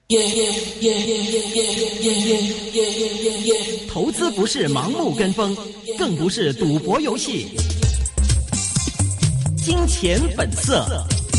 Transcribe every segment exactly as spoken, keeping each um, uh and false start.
投资不是盲目跟风，更不是赌博游戏。金钱本色。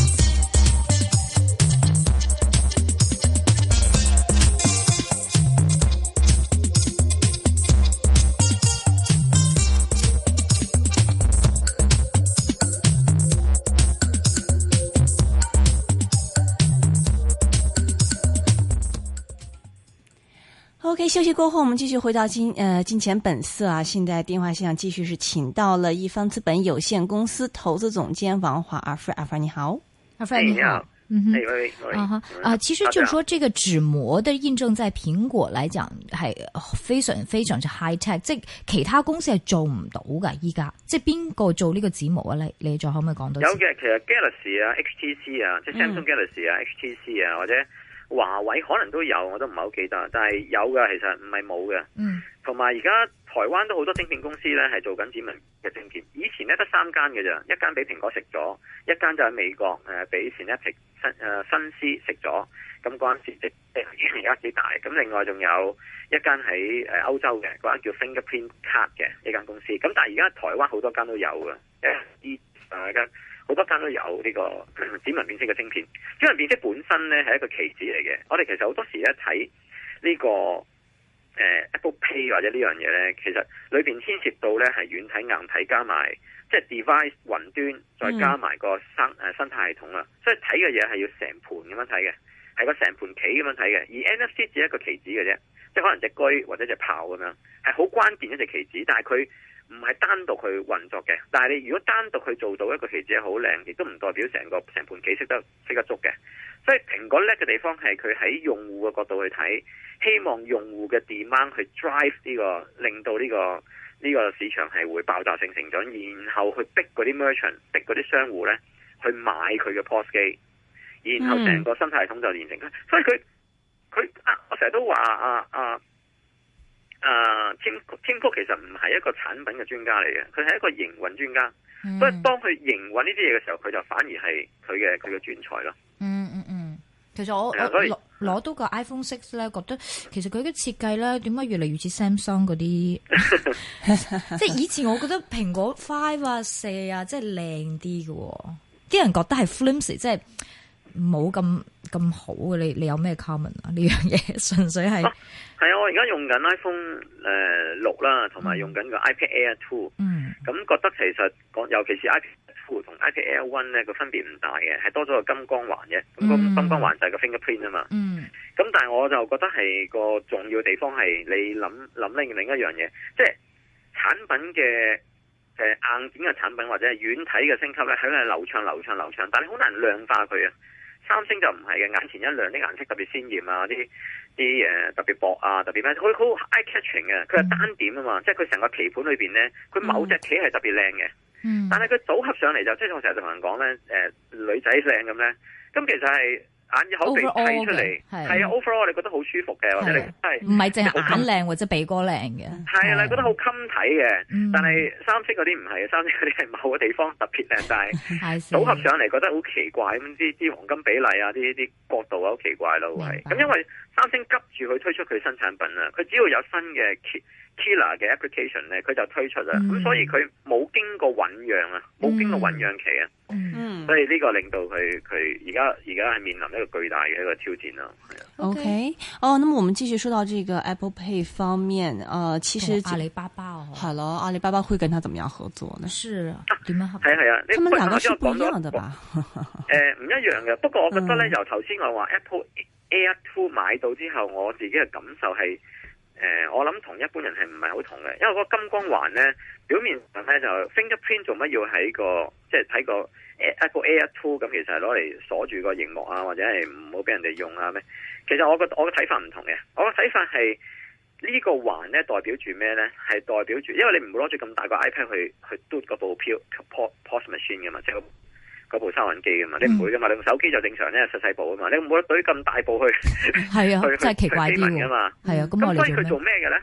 OK， 休息过后，我们继续回到金呃金钱本色啊。现在电话线上继续是请到了一方资本有限公司投资总监王华阿 Fred， 阿 Fred 你好， 阿 Fred 你好，嗯哼，啊哈啊，其實就是說，這個紙膜的印證在蘋果來講係非常非常之 high tech， 即係其他公司係做唔到噶。依家即係邊個做呢個紙膜啊？你你再可唔可以講多？ 有嘅，其實 Galaxy 啊、H T C 啊，即係 Samsung Galaxy 啊、嗯、H T C 啊，或者華為可能都有，我都唔係好記得，但係有嘅，其實唔係冇嘅。嗯，同埋而家台灣都好多晶片公司咧係做緊指紋嘅晶片，以前咧得三間嘅咋，一間俾蘋果食咗，一間就喺美國誒俾 Synaptics 新誒新思食咗，咁嗰陣時即係而家幾大，咁另外仲有一間喺誒歐洲嘅嗰間叫 Fingerprint Card 嘅一間公司，咁但係而家台灣好多間都有嘅，誒啲誒好多間都有呢個指紋辨識嘅晶片。指紋辨識本身咧係一個棋子嚟嘅，我哋其實好多時咧睇呢個誒、呃、Apple Pay 或者呢樣嘢咧，其實裏邊牽涉到咧係軟體硬體加埋即係 device 雲端再加埋個生誒生態系統啦，所以睇嘅嘢係要成盤咁樣睇嘅，係個成盤棋咁樣睇嘅。而 N F C 只係一個棋子嘅啫，即係可能隻龜或者隻豹咁樣，係好關鍵一隻棋子，但係佢唔係單獨去運作嘅，但係你如果單獨去做到一個棋子好靚，亦都唔代表成個成盤棋識得識得捉嘅。所以蘋果叻嘅地方係佢喺用戶嘅角度去睇，希望用戶嘅 demand 去 drive 呢個，令到呢個呢個市場係會爆炸性成長，然後去逼嗰啲 merchant， 逼嗰啲商戶咧去買佢嘅 P O S 機，然後成個生態系統就連成。嗯、所以佢佢啊，我成日都話啊啊。啊、uh, Tim Tim Cook 其實唔係一個產品嘅專家嚟嘅，佢係一個營運專家。嗯、所以當佢營運呢啲嘢嘅時候，佢就反而係佢嘅佢嘅專才咯。 嗯嗯嗯，其實我我攞攞到個 iPhone Six 咧，覺得其實佢嘅設計咧，點解越嚟越似 Samsung 嗰啲？即係以前我覺得蘋果 Five 啊四啊，即係靚啲嘅，啲人覺得係 flimsy， 即係冇咁咁好嘅。你你有咩 comment 啊？呢樣嘢純粹係。 係啊，我而家用緊 iPhone 誒六啦，同埋用緊個 iPad Air Two。嗯，咁覺得其實講，尤其是 iPad Two 同 iPad Air One 咧個分別唔大嘅，係多咗個金光環嘅。咁個金光環就係個 fingerprint 啊嘛。嗯。咁但係我就覺得係個重要地方係你諗諗另另一樣嘢，即係產品嘅誒硬件嘅產品或者係軟體嘅升級咧，係流暢流暢流暢，但係好難量化佢啊。三星就唔係嘅，眼前一亮，啲顏色特別鮮豔啊，啲啲誒特別薄啊，特別咩，佢好 eye catching 嘅，佢係單點啊嘛，嗯、即係佢成個棋盤裏邊咧，佢某隻棋係特別靚嘅，嗯、但係佢組合上嚟就，即係我成日同人講咧，誒、呃、女仔靚咁咧，咁其實係眼耳口鼻睇出嚟，係啊 ，overall 你覺得好舒服嘅，或者你係唔係淨係眼靚或者鼻哥靚嘅， 係啊，你覺得好襟睇嘅，嗯、但係三星嗰啲唔係，三星嗰啲係某個地方特別靚，但係組合上嚟覺得好奇怪咁，啲啲黃金比例啊，啲啲角度啊好奇怪咯，係咁，因為三星急住去推出佢新產品啊，佢只要有新嘅 killer 嘅 application 咧，佢就推出啦，咁、嗯、所以佢冇經過醞釀啊，冇經過醞釀期啊。嗯，所以呢個令到佢佢而家而家係面臨一個巨大嘅一個挑戰咯。 OK， 哦，那麼我們繼續說到這個 Apple Pay 方面，呃，其實阿里巴巴哦， 好了，阿里巴巴會跟他怎麼樣合作呢？ 是啊，點樣合作？ 係啊係啊， 他們兩個是不一樣的吧？ 誒，唔一樣嘅。不過我覺得咧，由頭先我話 Apple Air Two 買到之後，我自己嘅感受係。誒、呃，我諗同一般人係唔係好同嘅，因為嗰個金光環咧，表面上咧就 fingerprint 做乜要喺個即係睇個 Apple Air Two 咁，其實係攞嚟鎖住個熒幕啊，或者係唔好俾人哋用啊咩？其實我個我嘅睇法唔同嘅，我嘅睇法係呢個環咧代表住咩咧？係代表住，因為你唔會攞住咁大個 iPad 去去嘟嗰部票 P O S machine 噶嘛，即係嗰部收銀機噶嘛，你唔會噶嘛，你用手機就正常咧，細細部啊嘛，你唔會懟咁大部去， 係啊， 去真係奇怪啲噶嘛， 係啊，咁咁所以佢做咩嘅咧？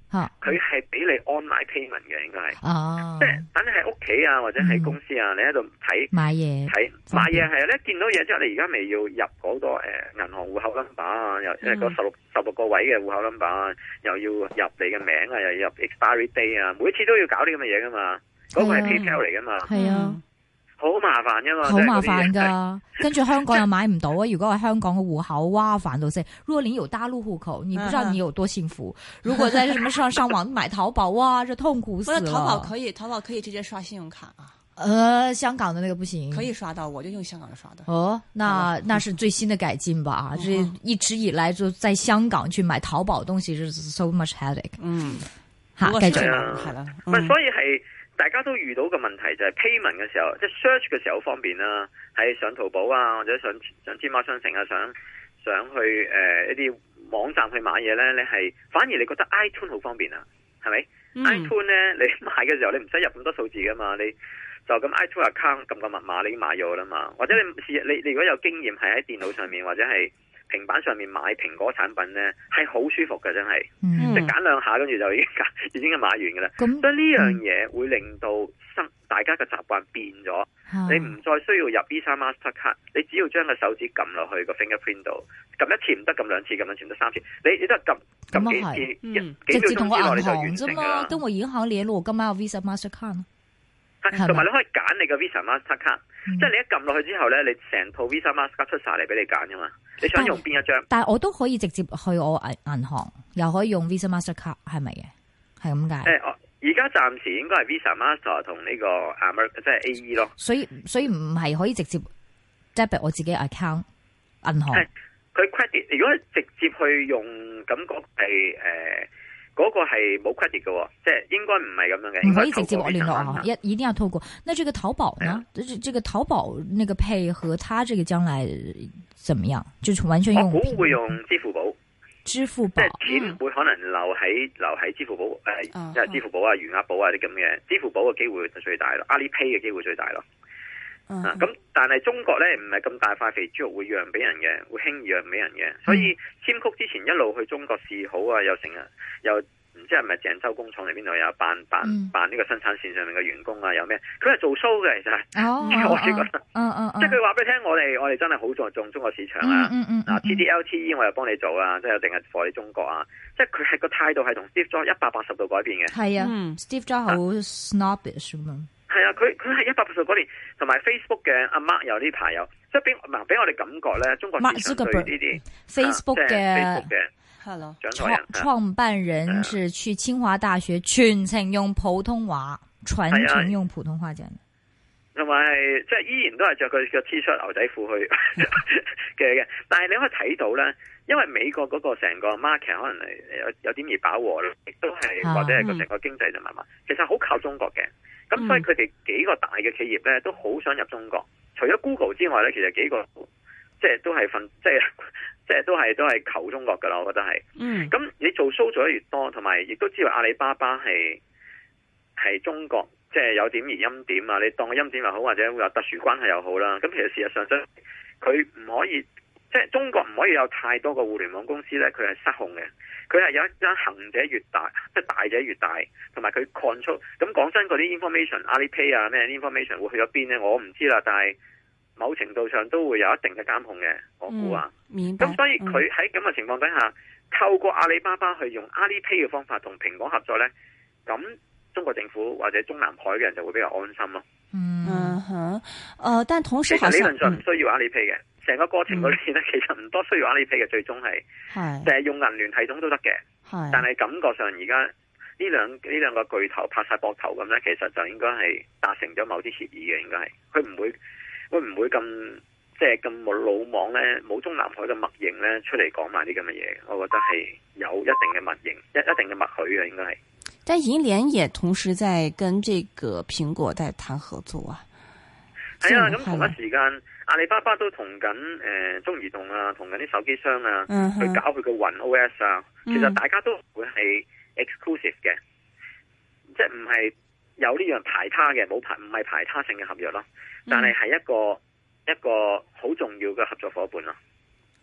佢係俾你 online payment 嘅，應該係。 哦。 即係等你喺屋企啊，或者喺公司啊，嗯、你喺度睇買嘢睇買嘢係啊，你見到嘢之後，你而家未要入嗰個誒銀行戶口 number 啊，又即係個十六十六個位嘅戶口 number 啊，又要入你嘅名啊，又要入 expiry day 啊，每次都要搞啲咁嘅嘢噶嘛。嗰、嗰個係 PayPal 嚟噶嘛。 係啊。 好麻煩噶嘛， 好麻煩噶，跟住香港又買唔到啊！如果係香港嘅戶口，哇，煩到死。如果你有大陸戶口，你不知道你有多幸福。如果在什麼上上網買淘寶，哇，這痛苦死了。 淘寶可以，淘寶可以直接刷信用卡啊。 呃，香港的那個不行， 可以刷到，我就用香港的刷的。 哦，那那是最新的改進吧？這一直以來就在香港去買淘寶東西，是 so much headache。嗯，吓，繼續係啦， 唔係，所以係。大家都遇到個問題就係 payment 嘅時候，即係 search 嘅時候好方便啦，喺上淘寶啊，或者上上天貓商城啊，想想去誒、呃、一啲網站去買嘢咧，你係反而你覺得 iTunes 好方便啊，係咪、嗯、？iTunes 咧，你買嘅時候你唔使入咁多數字噶嘛，你就咁 iTunes account 撳個密碼你已經買咗啦嘛，或者你試你你如果有經驗係喺電腦上面或者係平板上面買蘋果產品咧，係好舒服嘅，真係，即係揀兩下跟住就已經已經買完嘅啦。咁所以呢樣嘢會令到生大家嘅習慣變咗，嗯、你唔再需要入 Visa Mastercard， 你只要將個手指撳落去個 fingerprint 度，撳一次唔得，撳兩次，撳兩次唔得三次，你你都係撳撳幾次，嗯、幾秒鐘之內你就完成㗎啦。 跟我銀行聯絡，我今晚有 Visa Mastercard。 同埋你可以揀你個 Visa Mastercard，、嗯、即係你一撳落去之後咧，你成套 Visa Mastercard 出晒嚟俾你揀噶嘛。你想用邊一張？ 但係我都可以直接去我銀行，又可以用 Visa Mastercard， 係咪嘅？係咁解？ 誒、呃，而家暫時應該係 Visa Master 同呢個 Amer 即係 A E 咯。 所以所以唔係可以直接 debit 我自己 account 銀行。 佢 credit 如果直接去用，感覺係誒。嗰個係冇 credit 嘅，即係應該唔係咁樣嘅。 唔可以直接我聯絡啊，一一定要透過。那這個淘寶呢？這這個淘寶那個配合，它這個將來怎麼樣？就是完全用。 我估會用支付寶。 支付寶。 即係錢會可能留喺、嗯、留喺支付寶誒，即係支付寶啊、餘額寶啊啲咁嘅。支付寶嘅機會就最大咯，阿里 Pay 嘅機會最大咯。嗯、啊，咁但係中國咧唔係咁大塊肥豬肉會讓俾人嘅，會輕易讓俾人嘅，所以簽曲之前一路去中國示好啊，又成日又唔知係咪鄭州工廠嚟邊度有扮扮扮呢個生產線上面嘅員工啊，有咩？佢係做 show 嘅，其實係，哦、我自己覺得， 嗯嗯， 即係佢話俾你聽，我哋我哋真係好注重中國市場啊， 嗯嗯嗱 T D L T E 我又幫你做啊，即係定係 for 你中國啊，即係佢係個態度係同 Steve Jobs 一百八十度改變嘅， 係啊、嗯、，Steve Jobs 好 snobbish 嘛。 係啊，佢佢係一百八十嗰年，同埋 Facebook 嘅阿 Mark 有呢排有，即係俾嗱俾我哋感覺咧，中國市場對呢啲 Facebook 嘅係咯， 創創辦人是去清華大學全程用普通話，全程用普通話講， 同埋即係依然都係着佢嘅 T 恤牛仔褲去嘅嘅，但係你可以睇到咧，因為美國嗰個成個 market 可能係有有點而飽和啦，亦都係或者係個成個經濟就慢慢，其實好靠中國嘅。咁、嗯、所以佢哋幾個大嘅企業咧都好想入中國，除咗 Google 之外咧，其實幾個即係都係份即係即係都係都係求中國噶啦，我覺得係。嗯。咁你做 show 做得越多，同埋亦都知道阿里巴巴係係中國即係有點而欽點啊！你當個欽點又好，或者會有特殊關係又好啦。咁其實事實上真佢唔可以，即係中國唔可以有太多個互聯網公司咧，佢係失控嘅。佢係有一間行者越大，即係大者越大，同埋佢 control。咁講真，嗰啲 information， 阿里 Pay 啊，咩 information 會去咗邊咧？我唔知啦。但係某程度上都會有一定嘅監控嘅，我估啊。 明白。 咁所以佢喺咁嘅情況底下，透過阿里巴巴去用阿里 Pay 嘅方法同蘋果合作咧，咁中國政府或者中南海嘅人就會比較安心咯。 嗯哼，誒，但同時好像理論上唔需要阿里 Pay 嘅。成個過程嗰邊咧，其實唔多需要阿里 Pay 嘅，最終係，就係用銀聯系統都得嘅。但係感覺上而家呢兩呢兩個巨頭拍晒膊頭咁咧，其實就應該係達成咗某啲協議嘅，應該係。佢唔會會唔會咁即係咁冇魯莽咧，冇中南海嘅默認咧出嚟講埋啲咁嘅嘢。我覺得係有一定嘅默認，一一定嘅默許嘅，應該係。 但銀聯也同時在跟這個蘋果在談合作啊。 係啊，咁同一時間，阿里巴巴都同緊誒中移動啊，同緊啲手機商啊，嗯、去搞佢個雲 O S 啊。其實大家都會係 exclusive 嘅，嗯、即係唔係有呢樣排他嘅，冇排唔係排他性嘅合約咯。但係係一個、嗯、一個好重要嘅合作夥伴咯。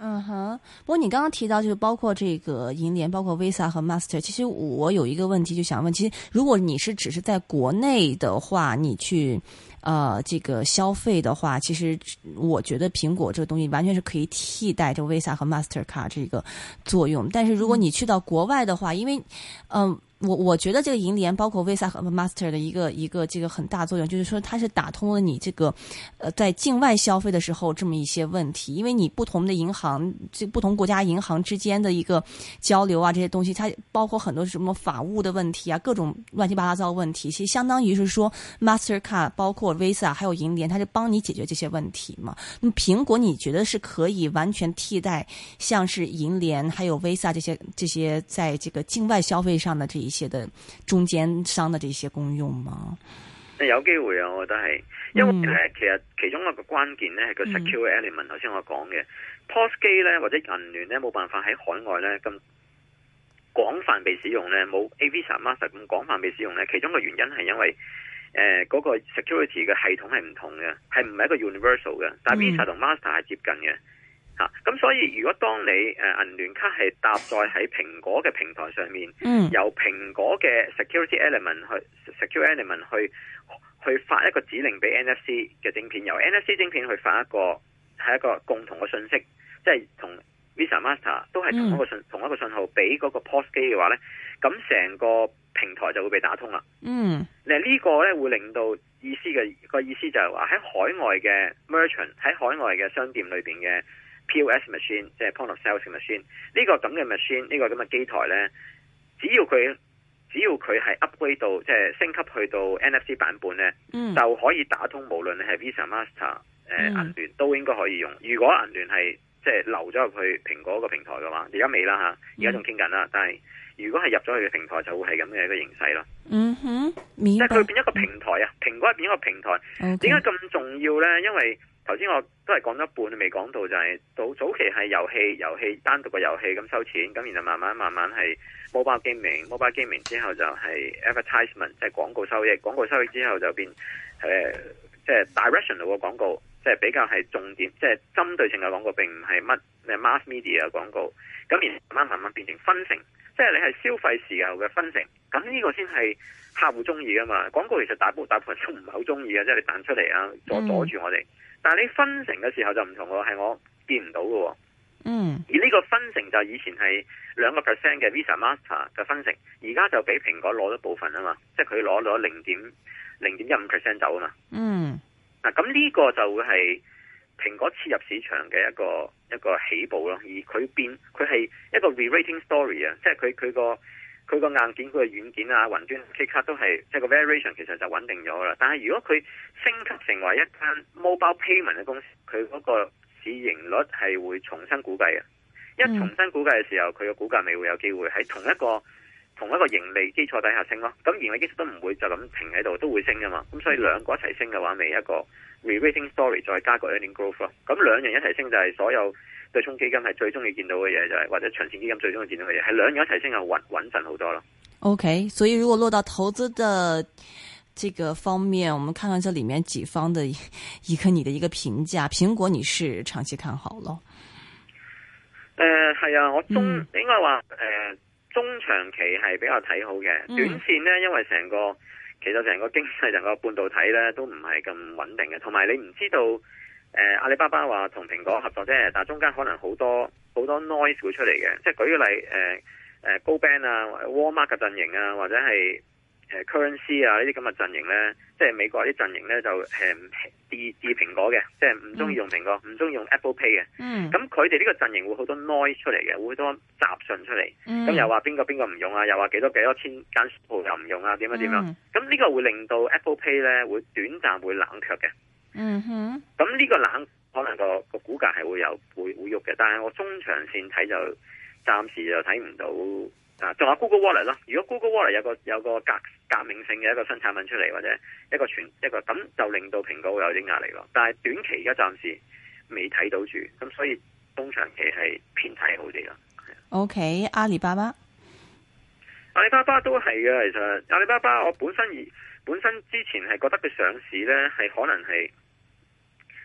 嗯哼，不過你剛剛提到，就是包括這個銀聯，包括 Visa 和 Master。其實我有一個問題就想問，其實如果你是只是在國內的話，你去，呃，這個消費的話，其實我覺得蘋果這個東西完全是可以替代這個 Visa 和 Master 卡這個作用。但是如果你去到國外的話，因為，嗯、呃。我我覺得這個銀聯包括 Visa 和 Master 的一個一個這個很大作用，就是說它是打通了你這個，呃，在境外消費的時候這麼一些問題，因為你不同的銀行，這不同國家銀行之間的一個交流啊，這些東西，它包括很多什麼法務的問題啊，各種亂七八糟的問題，其實相當於是說 Mastercard 包括 Visa 還有銀聯，它是幫你解決這些問題嘛。那麼蘋果你覺得是可以完全替代像是銀聯還有 Visa 這些這些在這個境外消費上的這一些一些的中間商的這些功用嗎？ 有機會啊，我覺得係，因為咧、嗯，其實其中一個關鍵咧係個 secure element。頭、嗯、先我講嘅 P O S 機咧或者銀聯咧冇辦法喺海外咧咁廣泛被使用咧，冇 Visa Master 咁廣泛被使用咧。其中一個原因係因為誒嗰、呃那個 security 嘅系統係唔同嘅，係唔係一個 universal 嘅，但係 Visa 同 Master 係接近嘅。吓、嗯、咁、啊、所以如果當你誒銀聯卡係搭載喺蘋果嘅平台上面，嗯、由蘋果嘅 security element 去 secure element 去去發一個指令俾 N F C 嘅晶片，由 N F C 晶片去發一個係一個共同嘅信息，即係同 Visa Master 都係同一個信、嗯、同一個信號俾嗰個 P O S 機嘅話咧，咁成個平台就會被打通啦。嗯，嗱呢個咧會令到意思嘅個意思就係話喺海外嘅 merchant 喺海外嘅商店裏邊嘅。P O S machine 即係 point of sales machine 呢個咁嘅 machine 呢個咁嘅機台咧，只要佢只要佢係 upgrade 到即係升級去到 N F C 版本咧、嗯，就可以打通無論你係 Visa Master 誒、呃、銀、嗯、聯都應該可以用。如果銀聯係即係流咗入去蘋果個平台嘅話，而家未啦吓，而家仲傾緊啦。但係如果係入咗去嘅平台，就會係咁嘅一個形勢咯。嗯哼，即係佢變一個平台啊，蘋果係變一個平台。點解咁重要咧？因為頭先我都係講咗一半，未講到就係、是、早早期係遊戲，遊戲單獨嘅遊戲咁收錢，咁然後慢慢慢慢係 mobile gaming，mobile gaming 之後就係 advertisement，即係廣告收益，廣告收益之後就變誒即係 directional 嘅廣告，即、就、係、是、比較係重點，即係針對性嘅廣告，並唔係乜 mass media 嘅廣告。咁然後慢慢慢慢變成分成，即係你係消費時候嘅分成，咁呢個先係客戶中意噶嘛。廣告其實大部大部分都唔係好中意嘅，即係你彈出嚟啊，阻阻住我哋。嗯但係你分成嘅時候就唔同喎，係我見唔到嘅。嗯，而呢個分成就以前係兩個 percent 嘅 Visa Master 嘅分成，而家就俾蘋果攞咗部分啊嘛，即係佢攞咗零點零點一五 percent 走啊嘛。嗯，嗱咁呢個就會係蘋果切入市場嘅一個一個起步咯，而佢變佢係一個 re-rating story 啊，即係佢佢個。佢個硬件、佢個軟件啊、雲端、K 卡都係即係個 variation 其實就穩定咗啦。但係如果佢升級成為一間 mobile payment 嘅公司，佢嗰個市盈率係會重新估計嘅。一重新估計嘅時候，佢嘅股價咪會有機會喺同一個同一個盈利基礎底下升咯。咁盈利基礎都唔會就咁停喺度，都會升噶嘛。咁所以兩個一齊升嘅話，咪一個 re-rating story 再加個 earning growth 咯。咁兩樣一齊升就係所有對沖基金係最中意見到嘅嘢，就係或者長線基金最中意見到嘅嘢，係兩樣一齊升係穩穩陣好多咯。OK， 所以如果落到投資的這個方面，我們看看這裏面幾方的一個你的一個評價。蘋果你是長期看好咯？ 誒、呃，係啊，我中、嗯、應該話誒、呃、中長期係比較睇好嘅、嗯。短線呢，因為成個其實成個經濟成個半導體咧都唔係咁穩定嘅，同埋你唔知道。誒、呃，阿里巴巴話同蘋果合作啫，但係中間可能好多好多 noise 會出嚟嘅，即係舉個例，誒、呃、誒，高 band 啊，Walmart 嘅陣營啊，或者係誒 currency 啊呢啲咁嘅陣營咧，即係美國啲陣營咧就誒跌跌蘋果嘅，即係唔中意用蘋果，唔中意用 Apple Pay 嘅。嗯。咁佢哋呢個陣營會好多 noise 出嚟嘅，會好多雜訊出嚟。咁、嗯、又話邊個邊個唔用啊，又話幾多幾多千間鋪又唔用啊，點樣點樣？咁、嗯、呢個會令到 Apple Pay 咧會短暫會冷卻嘅。嗯哼，咁呢個冷可能個個股價係會有會會喐嘅，但係我中長線睇就暫時就睇唔到啊。仲有 Google Wallet 咯，如果 Google Wallet 有個有個革革命性嘅一個新產品出嚟，或者一個全一個咁就令到蘋果會有啲壓力咯。但係短期而家暫時未睇到住，咁所以中長期係偏睇好啲咯。 OK， 阿里巴巴， 阿里巴巴都係嘅，其實阿里巴巴我本身而本身之前係覺得佢上市咧係可能係。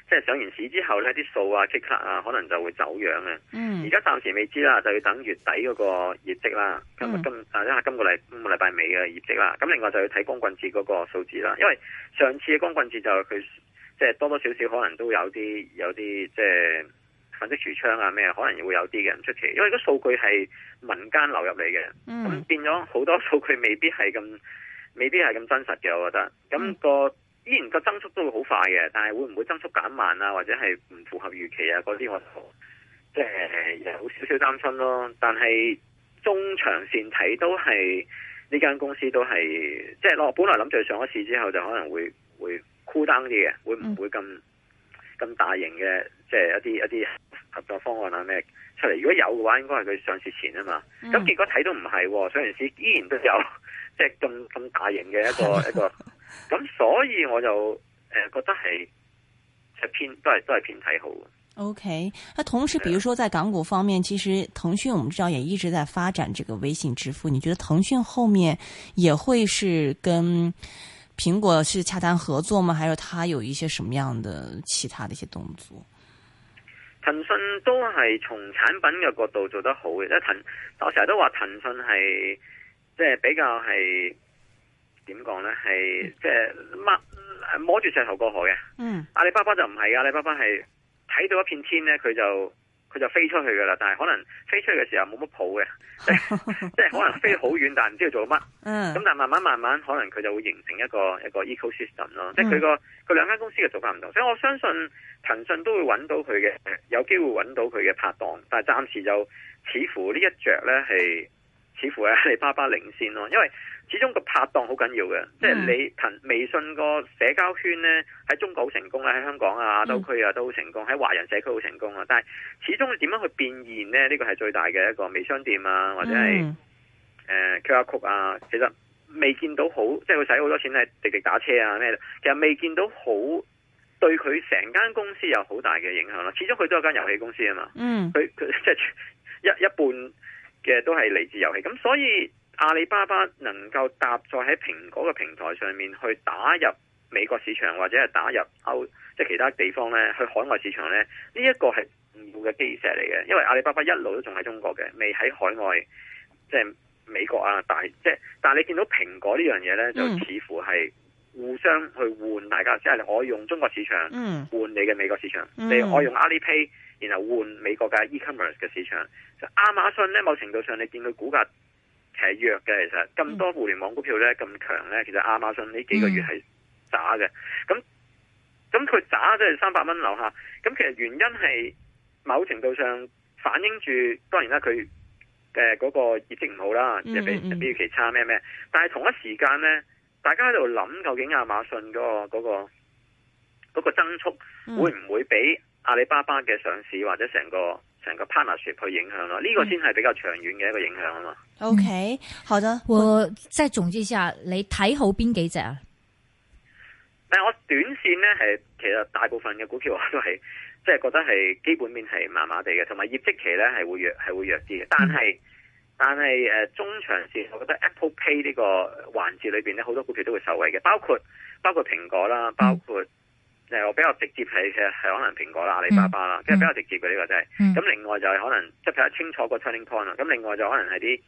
即係上完市之後咧，啲數啊、K 卡啊，可能就會走樣嘅。 嗯。 而家暫時未知啦，就要等月底嗰個業績啦。今日今啊，因為今個禮今個禮拜尾嘅業績啦。咁另外就要睇光棍節嗰個數字啦。因為上次嘅光棍節就佢即係多多少少可能都有啲有啲即係粉飾櫥窗啊咩，可能會有啲嘅唔出奇。因為個數據係民間流入嚟嘅，咁、嗯、變咗好多數據未必係咁未必係咁真實嘅，我覺得。咁、那個。嗯依然個增速都會好快嘅，但係會唔會增速減慢啊？或者係唔符合預期啊？嗰啲我即係有少少擔心咯。但係中長線睇都係呢間公司都係即係我本來諗住上一次之後就可能會會 cool down 啲嘅，會唔會咁咁、嗯、大型嘅即係一啲一啲合作方案啊咩出嚟？如果有嘅話，應該係佢上市前啊嘛。咁、嗯、結果睇到唔係，上完市依然都有即係咁咁大型嘅一個一個。咁所以我就誒、呃、覺得係係偏都係都係偏睇好嘅。 OK，那同時，比如說在港股方面，其實騰訊我們知道也一直在發展這個微信支付。你覺得騰訊後面也會是跟蘋果是洽談合作嗎？還是它有一些什麼樣的其他的一些動作？ 騰訊都係從產品嘅角度做得好嘅，即係騰，我成日都話騰訊係即係比較係。點講呢？係即係摸摸住石頭過河嘅。嗯，阿里巴巴就唔係，阿里巴巴係睇到一片天呢，佢就佢就飛出去噶啦。但係可能飛出去嘅時候冇乜譜嘅，即係即係可能飛好遠，但係唔知道做乜。嗯，咁但係慢慢慢慢，可能佢就會形成一個一個 ecosystem 咯。即係佢個佢兩間公司嘅做法唔同，所以我相信騰訊都會揾到佢嘅，有機會揾到佢嘅拍檔。但係暫時就似乎呢一着呢係似乎係阿里巴巴領先咯，因為。始終個拍檔好緊要嘅，即係你騰微信個社交圈呢，喺中國好成功啦，喺香港啊、亞洲區啊都好成功，喺華人社區好成功啊。但係始終你點樣去變現呢？呢個係最大嘅一個微商店啊，或者係誒、呃、Q R code 啊，其實未見到好，即係佢使好多錢喺滴滴打車啊咩，其實未見到好對佢成間公司有好大嘅影響咯。始終佢都有間遊戲公司啊嘛，嗯，佢佢即係一一半嘅都係嚟自遊戲，咁所以。阿里巴巴能夠搭載喺蘋果嘅平台上面去打入美國市場或者係打入歐即係其他地方咧，去海外市場咧，呢、這、一個係唔錯嘅基石嚟嘅。因為阿里巴巴一路都仲喺中國嘅，未喺海外即係美國啊大即係，但係你見到蘋果呢樣嘢咧，就似乎係互相去換大家，嗯、即係我用中國市場換你嘅美國市場，嗯、你我用 Alipay 然後換美國嘅 e-commerce 嘅市場。就亞馬遜咧，某程度上你見佢股價。係弱嘅，其實咁多互聯網股票咧咁強咧，其實亞馬遜呢幾個月係渣嘅。咁咁佢渣即係三百蚊樓下。咁其實原因係某程度上反映住，當然啦，佢嘅嗰個業績唔好啦，即係比比預期差咩咩。但係同一時間咧，大家喺度諗究竟亞馬遜嗰個嗰個嗰個增速會唔會比阿里巴巴嘅上市或者成個成個 partnership 去影響咯？呢、這個先係比較長遠嘅一個影響啊嘛。 OK，好的， 我再總結一下，你睇好邊幾隻啊？ 但係我短線咧係其實大部分嘅股票我都係即係覺得係基本面係麻麻地嘅，同埋業績期咧係會弱係會弱啲嘅。但係、嗯、但係誒、呃、中長線，我覺得 Apple Pay 呢個環節裏邊咧好多股票都會受惠嘅，包括包括蘋果啦，包括。嗯誒，我比較直接係其實係可能蘋果啦、阿里巴巴啦，即、嗯、係比較直接嘅呢、這個真係。咁、嗯、另外就係可能即係比較清楚個 turning point 啦。咁另外就可能係啲誒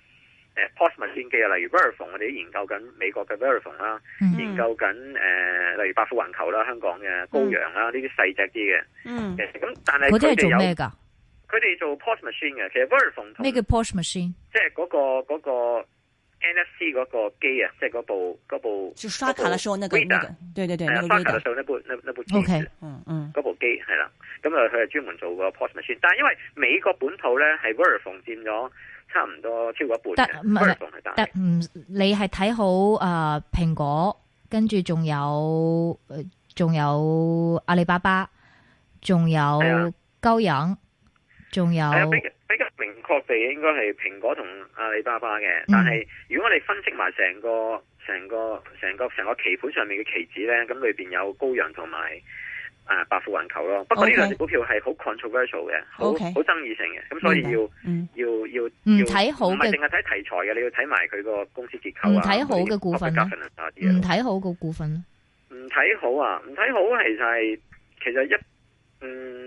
P O S 物先機啊，例如 Verifone，我哋研究緊美國嘅 Verifone 啦、嗯，研究緊誒、呃、例如百富環球啦、香港嘅高陽啦，呢啲細隻啲嘅。嗯。咁但係佢哋有咩㗎？佢哋做 P O S machine 嘅，其實 Verifone 同咩叫 P O S machine？即係嗰個嗰個。那個N F C 嗰個機啊，即係嗰部嗰部，就刷卡嘅時候那個那個，對對對，係啊，刷卡嘅時候那部那那部機，OK，嗯嗯，嗰部機係啦，咁啊佢係專門做個 P O S machine，但係因為美國本土咧係 Verifone 佔咗差唔多超過一半嘅，Verifone 係大，但唔你係睇好誒蘋果，跟住仲有仲有阿里巴巴，仲有高陽，仲有。比較明確地應該係蘋果同阿里巴巴嘅，但係如果我哋分析埋成個成個成個成個棋盤上面嘅棋子咧，咁裏邊有高陽同埋啊百富環球咯。不過呢兩隻股票係好 controversial 嘅，好好、okay. 爭議性嘅，咁所以要、嗯、要要唔睇好嘅，唔係淨係睇題材嘅，你要睇埋佢個公司結構啊。唔睇好嘅股份，唔睇好嘅股份，唔睇好啊！唔睇好其實係其實一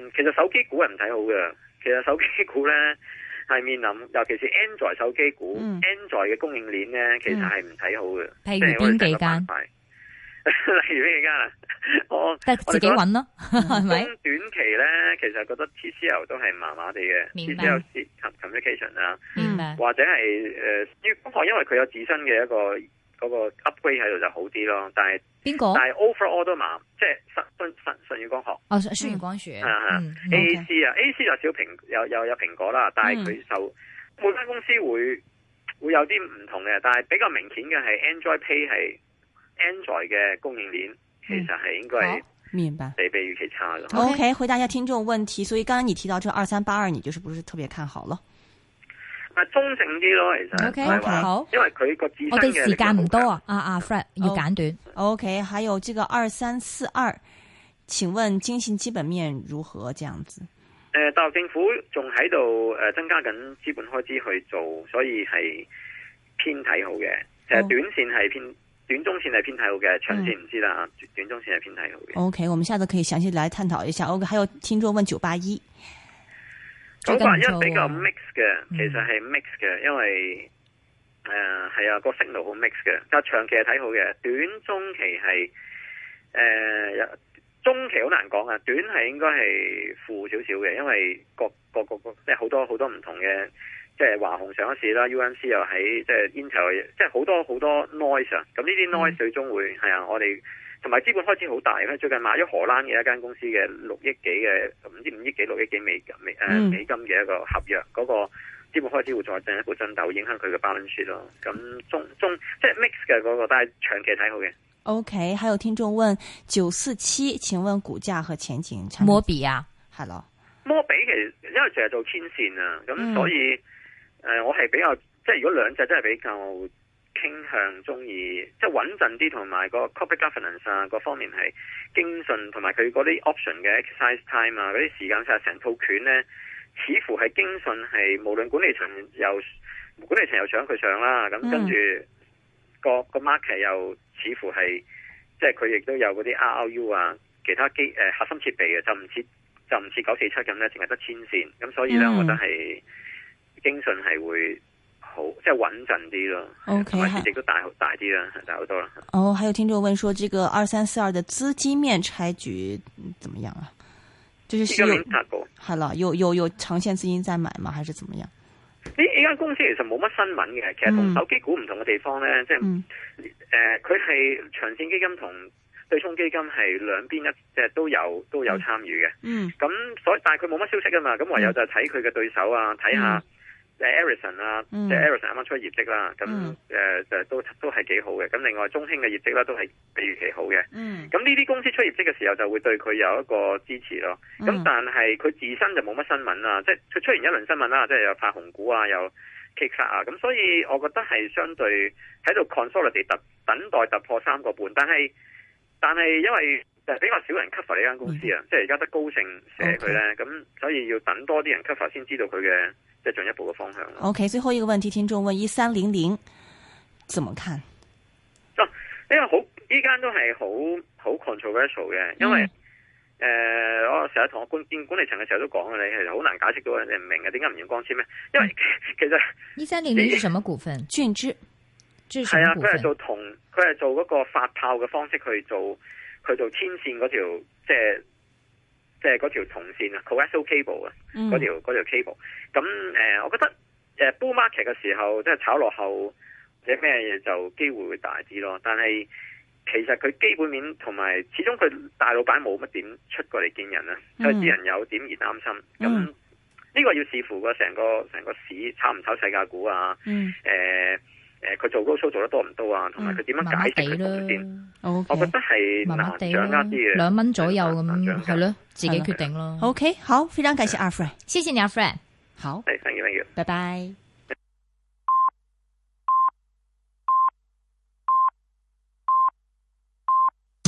嗯，其實手機股係唔睇好嘅。其實手機股咧係面臨，尤其是 Android 手機股、嗯、，Android 嘅供應鏈咧，其實係唔睇好嘅。 譬如邊幾間？ 例如邊幾間啊？我但係自己揾咯，係咪？ 短期咧，其實覺得 T C L 都係麻麻地嘅 ，T C L Communication 啊，或者係誒，粵光學因為佢有自身嘅一個嗰個 upgrade 喺度就好啲咯。但係邊個？ 但係 overall 都麻，即係信信信信宇光學。 哦，信宇光學。 啊啊 ，A C 啊 ，A C 就少蘋有有有蘋果啦，但係佢受每間公司會會有啲唔同嘅，但係比較明顯嘅係 Android Pay 係 Android 嘅供應鏈。其實係應該係明白， 比比預期差咯。 OK， 回答一下聽眾問題。所以剛剛你提到這二三八二，你就是不是特別看好咯？ 啊，中性啲咯，其實。 OK， 好。 因為佢個自身嘅。 我哋時間唔多啊，阿阿 Fred 要簡短。 OK， 還有這個二三四二，請問經濟基本面如何？這樣子。 誒、呃，大陸政府仲喺度誒增加緊資本開支去做，所以係偏睇好嘅。其實短線係偏。Oh. 短中線係偏睇好嘅，長線唔知啦。嗯、短中線係偏睇好嘅。OK， 我們下次可以詳細來探討一下。OK， 還有聽眾問九八一， 九八一比較 mix 嘅，其實係 mix 嘅，因為誒係啊個 signal 好 mix 嘅，但係長期係睇好嘅，短中期係誒、呃、中期好難講啊，短係應該係負少少嘅，因為各各各各即係好多好多唔同嘅。即係華虹上咗市啦 ，U M C 又喺即係 Intel，即係好多好多 noise 啊！咁呢啲 noise 最終會係、嗯、啊，我哋同埋資本開支好大，佢最近買咗荷蘭嘅一間公司嘅六億幾嘅唔知五億幾六億幾美美誒美金嘅一個合約，嗰、嗯、個資本開支會再進一步增大，會影響佢嘅 balance sheet 咯。咁中中即係 mix 嘅嗰、那個，但係長期睇好嘅。 OK， 還有聽眾問九四七，請問股價和前景？ 摩比啊， 係咯， 摩比其實因為成日做天線啊，咁所以。嗯誒、呃，我係比較即係如果兩隻真係比較傾向中意，即係穩陣啲，同埋個 corporate governance 啊，各方面係經信，同埋佢嗰啲 option 嘅 exercise time 啊，嗰啲時間上成套拳咧，似乎係經信係無論管理層又管理層又想佢上啦，咁跟住個個 market 又似乎係即係佢亦都有嗰啲 R R U 啊，其他機誒、呃、核心設備嘅，就唔似就唔似九四七咁咧，淨係得天線，咁所以咧，我覺得係。經信係會好，即係穩陣啲咯。O K， 市值都大大啲啦，大好多啦。 哦，還有聽眾問說，這個二三四二的資金面拆局怎麼樣啊？就是有係啦，有有有長線資金在買嗎？還是怎麼樣？呢呢間公司其實冇乜新聞嘅，其實同手機股唔同嘅地方咧，嗯、即係誒，佢、呃、係長線基金同對沖基金係兩邊一即係都有都有參與嘅。嗯。咁所以但係佢冇乜消息㗎嘛，咁唯有就睇佢嘅對手啊，睇下。嗯誒 Ericsson 啊，即係 Ericsson 啱啱出業績啦，咁誒就都都係幾好嘅。咁另外中興嘅業績啦都係比預期好嘅。咁呢啲公司出業績嘅時候就會對佢有一個支持咯。咁、嗯、但係佢自身就冇乜新聞啦，即係佢出現一輪新聞啦，即係有發紅股啊，有 kick 啊，咁所以我覺得係相對喺度 consolidate 等等待突破三個半。但係但係因為就比較少人 cover 呢間公司啊，嗯、即係而家得高盛寫佢咧，咁、okay. 所以要等多啲人 cover 先知道佢嘅。即係進一步嘅方向。 OK， 最後一個問題，聽眾問一三零零，怎麼看？ 哦，呢個好，呢間都係好好 controversial 嘅，因為誒、嗯呃，我成日同我管見管理層嘅時候都講嘅，你係好難解釋到人哋唔明嘅，點解唔用光纖咧？因為其實一三零零係什麼股份？俊之， 係啊，佢係做銅，佢係做嗰個發炮嘅方式去做，去做天線嗰條即係。即係嗰條銅線啊 ，coaxial cable 啊，嗰條嗰條 cable。咁誒、呃，我覺得誒 bull market 嘅時候，即係炒落後或者咩嘢就機會會大啲咯。但係其實佢基本面同埋，始終佢大老闆冇乜點出過嚟見人啊，所以啲人有點而擔心。咁呢、嗯、個要視乎個成個成個市炒唔炒世界股啊？誒、嗯。呃誒，佢做高數做得多唔多啊？同埋佢點樣解釋佢先？先 okay, 我覺得係難掌握啲嘅， 兩蚊左右咁，係咯，自己決定咯。 OK，好，非常感謝阿 Fred， 謝謝你阿 Fred， 好， 係，thank you，thank you， 拜拜。